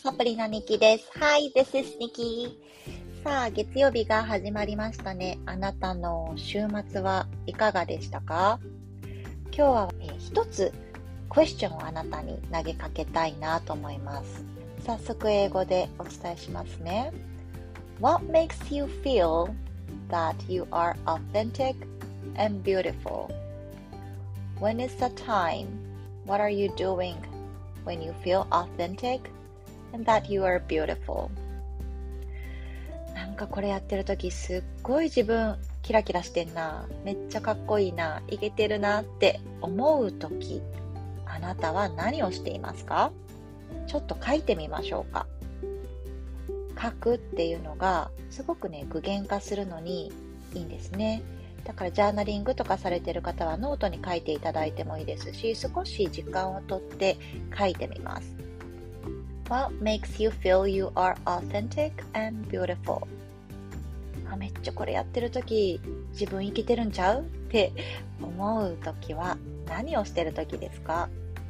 サプリのニキです。Hi, this is Nikki. さあ、月曜日が始まりましたね。あなたの週末はいかがでしたか？今日は、一つクエスチョンをあなたに投げかけたいなと思います。早速英語でお伝えしますね。What makes you feel that you are authentic and beautiful? When is the time? What are you doing when you feel authentic?And that you are beautiful. なんかこれやってるときすっごい自分キラキラしてんな、めっちゃかっこいいな、イケてるなって思うとき、あなたは何をしていますか？ちょっと書いてみましょうか。書くっていうのがすごくね、具現化するのにいいんですね。だからジャーナリングとかされている方はノートに書いていただいてもいいですし、少し時間をとって書いてみます。What makes you feel you are authentic and beautiful? めっちゃこれやってるとき自分生きてるんちゃうって思うときは何をしてるときですか？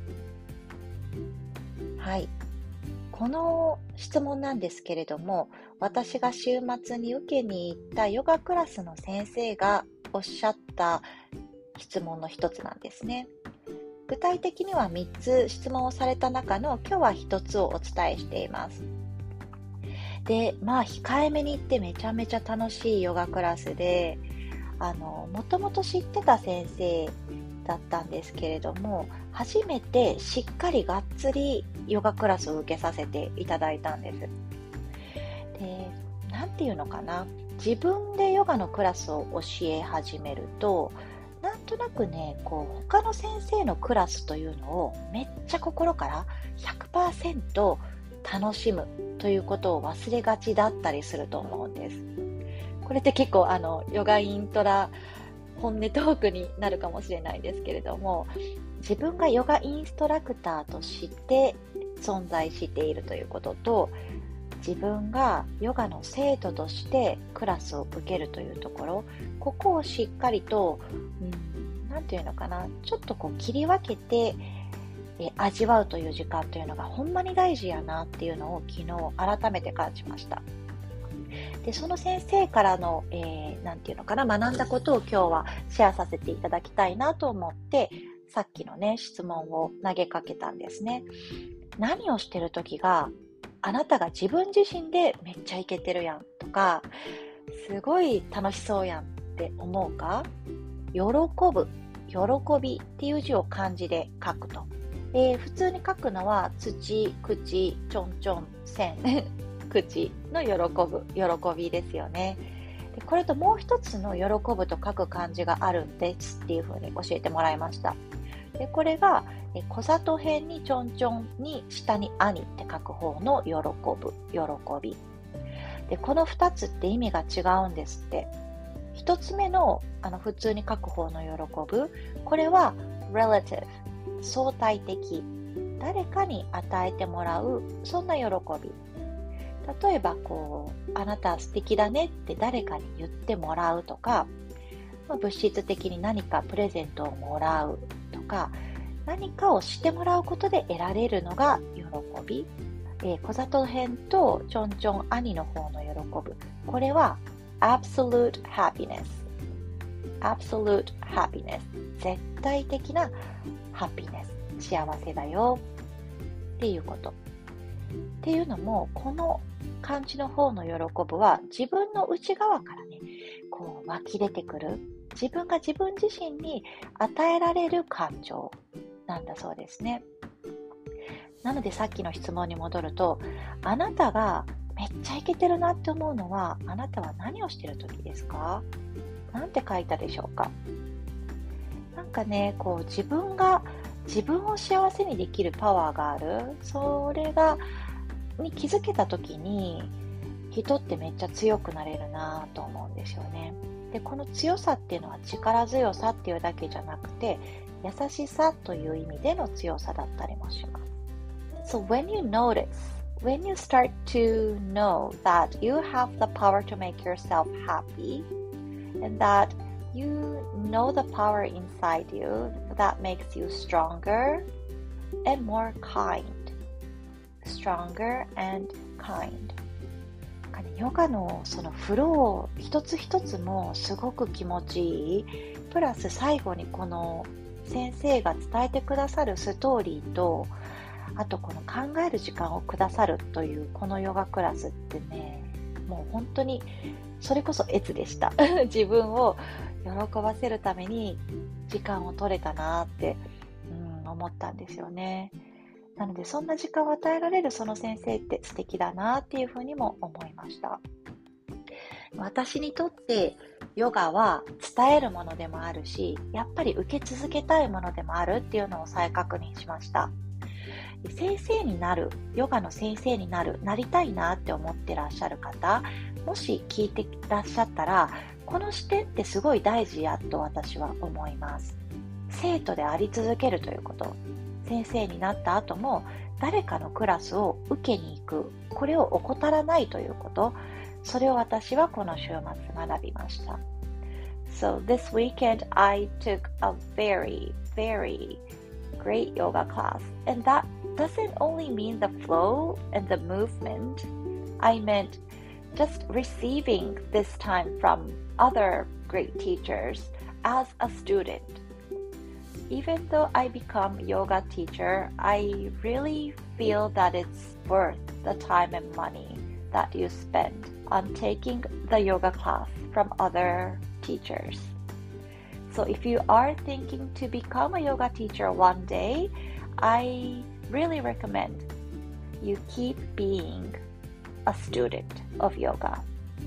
はい。この質問なんですけれども、私が週末に受けに行ったヨガクラスの先生がおっしゃった質問の一つなんですね。具体的には3つ質問をされた中の今日は1つをお伝えしています。で、控えめに言ってめちゃめちゃ楽しいヨガクラスで、もともと知ってた先生だったんですけれども、初めてしっかりがっつりヨガクラスを受けさせていただいたんです。で、なんていうのかな、自分でヨガのクラスを教え始めると、なんとなくね、他の先生のクラスというのをめっちゃ心から 100% 楽しむということを忘れがちだったりすると思うんです。これって結構ヨガイントラ本音トークになるかもしれないですけれども、自分がヨガインストラクターとして存在しているということと、自分がヨガの生徒としてクラスを受けるというところ、ここをしっかりと、なんていうのかな、ちょっと切り分けて味わうという時間というのがほんまに大事やなっていうのを昨日改めて感じました。で、その先生からの、なんていうのかな、学んだことを今日はシェアさせていただきたいなと思って、さっきのね、質問を投げかけたんですね。何をしてる時があなたが自分自身でめっちゃイケてるやんとか、すごい楽しそうやんって思うか？喜ぶ、喜びっていう字を漢字で書くと。普通に書くのは土、口、ちょんちょん、線、口の喜ぶ、喜びですよね。で、これともう一つの喜ぶと書く漢字があるんですっていうふうに教えてもらいました。で、これが小里辺にちょんちょんに下に兄って書く方の喜ぶ、喜び。で、この2つって意味が違うんですって。1つ目の普通に書く方の喜ぶ、これは relative、相対的、誰かに与えてもらう、そんな喜び。例えばあなた素敵だねって誰かに言ってもらうとか、物質的に何かプレゼントをもらうとか、何かをしてもらうことで得られるのが喜び。小里辺とちょんちょん兄の方の喜ぶ、これは absolute happiness、 absolute happiness、 絶対的なハピネス、幸せだよっていうこと。っていうのも、この漢字の方の喜ぶは自分の内側からね、湧き出てくる、自分が自分自身に与えられる感情なんだそうですね。なのでさっきの質問に戻ると、あなたがめっちゃイケてるなって思うのは、あなたは何をしてる時ですか？なんて書いたでしょうか？なんかね、自分を幸せにできるパワーがある、それに気づけた時に、人ってめっちゃ強くなれるなと思うんですよね。で、この強さっていうのは力強さっていうだけじゃなくて、優しさという意味での強さだったりもします。So when you start to know that you have the power to make yourself happy, and that you know the power inside you that makes you stronger and more kind, stronger and kind。ヨガのそのフロー一つ一つもすごく気持ちいい。プラス最後にこの先生が伝えてくださるストーリーと、あとこの考える時間をくださるというこのヨガクラスってね、もう本当にそれこそ悦でした。自分を喜ばせるために時間を取れたなって、思ったんですよね。なのでそんな時間を与えられるその先生って素敵だなっていうふうにも思いました。私にとってヨガは伝えるものでもあるし、やっぱり受け続けたいものでもあるっていうのを再確認しました。先生になる、ヨガの先生になりたいなって思ってらっしゃる方、もし聞いてらっしゃったら、この視点ってすごい大事やと私は思います。生徒であり続けるということ。先生になった後も誰かのクラスを受けに行く、これを怠らないということ、それを私はこの週末学びました。So this weekend I took a very great yoga class, and that doesn't only mean the flow and the movement. I meant just receiving this time from other great teachers as a student.Even though I become a yoga teacher, I really feel that it's worth the time and money that you spend on taking the yoga class from other teachers. So if you are thinking to become a yoga teacher one day, I really recommend you keep being a student of yoga.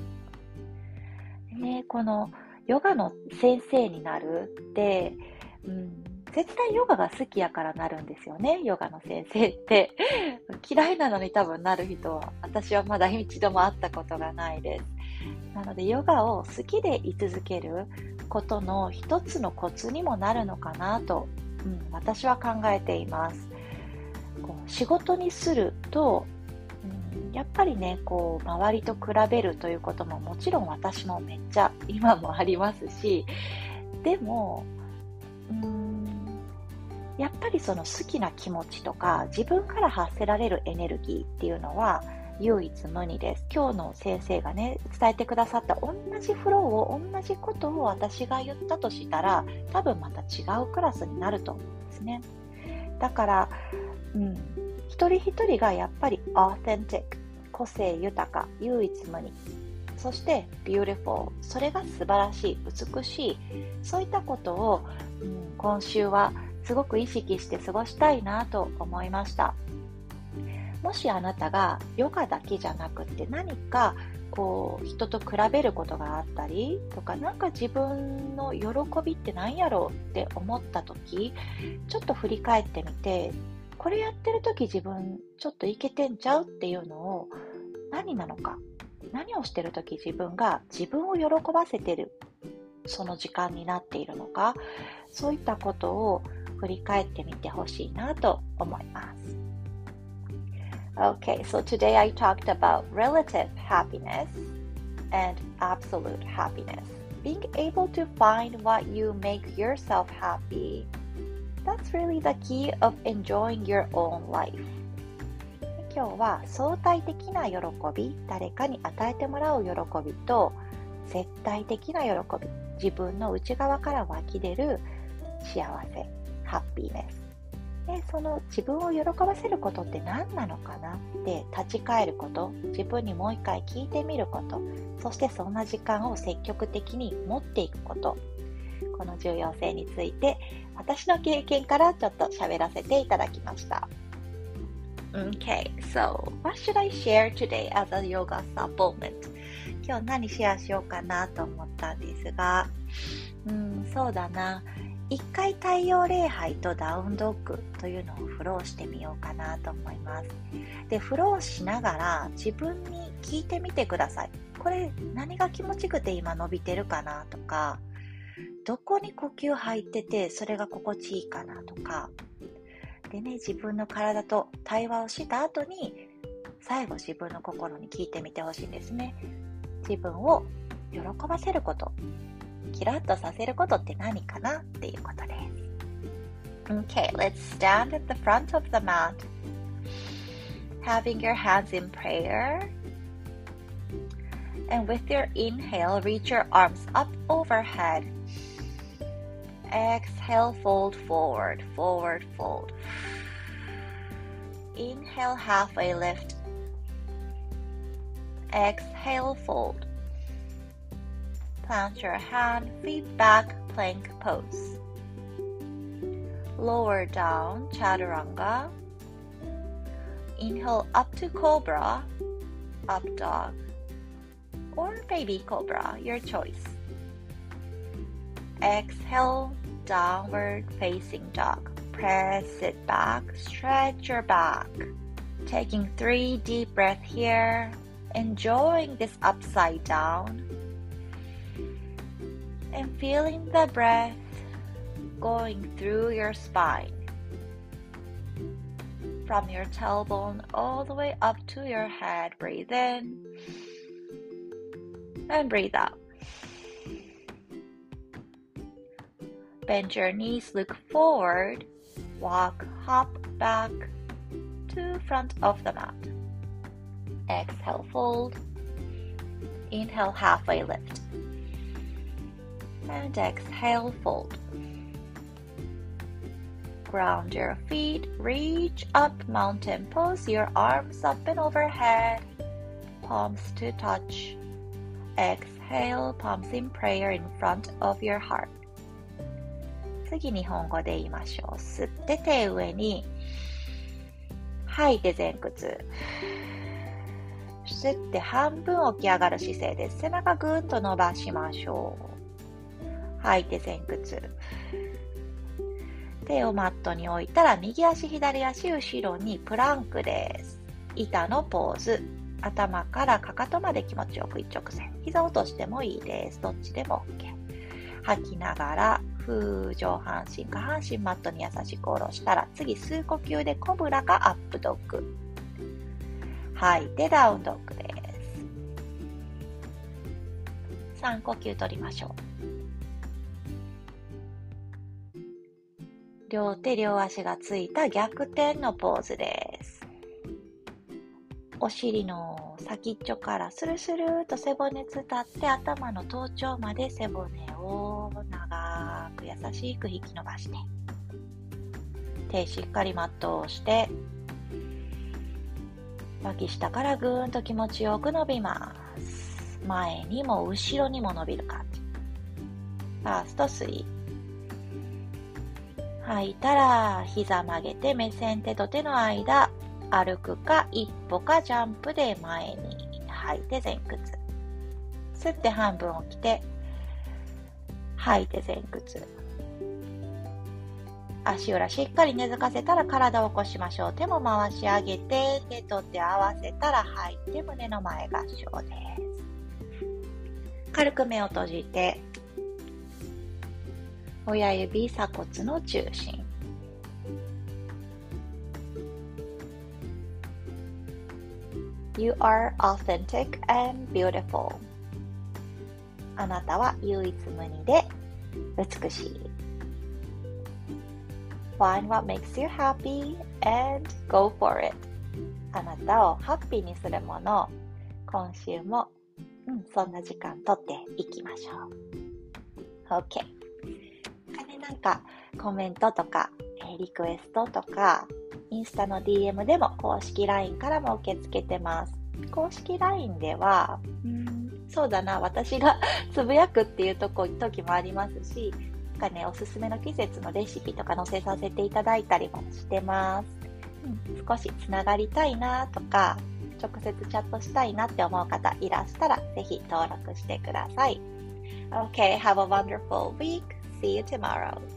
ね、このヨガの先生になるって、絶対ヨガが好きやからなるんですよね、ヨガの先生って。嫌いなのに多分なる人は、私はまだ一度も会ったことがないです。なのでヨガを好きで居続けることの一つのコツにもなるのかなと、私は考えています。仕事にすると、やっぱりね、周りと比べるということももちろん私もめっちゃ今もありますし、でも、やっぱりその好きな気持ちとか自分から発せられるエネルギーっていうのは唯一無二です。今日の先生がね、伝えてくださった同じフローを、同じことを私が言ったとしたら、多分また違うクラスになると思うんですね。だから、一人一人がやっぱりauthentic、個性豊か、唯一無二、そして beautiful、それが素晴らしい、美しい、そういったことを、今週はすごく意識して過ごしたいなと思いました。もしあなたがヨガだけじゃなくて何か人と比べることがあったりとか、なんか自分の喜びって何やろうって思った時、ちょっと振り返ってみて、これやってる時自分ちょっといけてんちゃうっていうのを何なのか、何をしてる時自分が自分を喜ばせてるその時間になっているのか、そういったことを振り返ってみてほしいなと思います。Okay, so today I talked about relative happiness and absolute happiness. Being able to find what you make yourself happy. That's really the key of enjoying your own life. 今日は相対的な喜び、誰かに与えてもらう喜びと絶対的な喜び、自分の内側から湧き出る幸せ、ハッピーネス。で、その自分を喜ばせることって何なのかなって立ち返ること、自分にもう一回聞いてみること、そしてそんな時間を積極的に持っていくこと、この重要性について私の経験からちょっと喋らせていただきました。Okay, so what should I share today as a yoga supplement? 今日何シェアしようかなと思ったんですが、そうだな。一回太陽礼拝とダウンドッグというのをフローしてみようかなと思います。で、フローしながら自分に聞いてみてください。これ何が気持ちくて今伸びてるかなとか、どこに呼吸入っててそれが心地いいかなとか。でね、自分の体と対話をした後に最後自分の心に聞いてみてほしいんですね。自分を喜ばせること、キラッとさせることって何かなっていうことです。Okay, let's stand at the front of the mat. having your hands in prayer. And with your inhale, reach your arms up overhead. Exhale, fold forward, forward, fold. Inhale, halfway lift. Exhale, fold. Plant your hand, feet back, plank pose. Lower down, chaturanga. Inhale up to cobra, up dog, or baby cobra, your choice. Exhale, downward facing dog. Press it back, stretch your back. Taking 3 deep breaths here, enjoying this upside down. And feeling the breath going through your spine. From your tailbone all the way up to your head. Breathe in and breathe out. Bend your knees, look forward, walk, hop back to front of the mat. Exhale, fold. Inhale, halfway lift. And exhale, fold. Ground your feet, reach up, mountain pose, your arms up and overhead, palms to touch. Exhale, palms in prayer in front of your heart. 次日本語で言いましょう。吸って手上に、吐いて前屈。吸って半分起き上がる姿勢です。背中ぐーんと伸ばしましょう。吐いて前屈。手をマットに置いたら右足左足後ろにプランクです。板のポーズ。頭からかかとまで気持ちよく一直線。膝を落としてもいいです。どっちでも OK。吐きながら上半身下半身マットに優しく下ろしたら次吸う呼吸でコブラかアップドッグ。吐いてダウンドッグです。3呼吸取りましょう。両手両足がついた逆転のポーズです。お尻の先っちょからスルスルーと背骨伝って頭の頭頂まで背骨を長く優しく引き伸ばして、手しっかりマットを押して脇下からぐーんと気持ちよく伸びます。前にも後ろにも伸びる感じ。ファーストスリー。吐いたら膝曲げて目線手と手の間歩くか一歩かジャンプで前に吐いて前屈。吸って半分起きて吐いて前屈。足裏しっかり根付かせたら体を起こしましょう。手も回し上げて手と手合わせたら吐いて胸の前合掌です。軽く目を閉じて親指鎖骨の中心。You are authentic and beautiful. あなたは唯一無二で美しい。Find what makes you happy and go for it. あなたをハッピーにするものを今週も、そんな時間とっていきましょう。OK。なんかコメントとかリクエストとかインスタの DM でも公式 LINE からも受け付けてます。公式 LINE ではそうだな、私がつぶやくっていう時もありますし、おすすめの季節のレシピとか載せさせていただいたりもしてます。少しつながりたいなとか直接チャットしたいなって思う方いらしたらぜひ登録してください。Okay, have a wonderful week. See you tomorrow.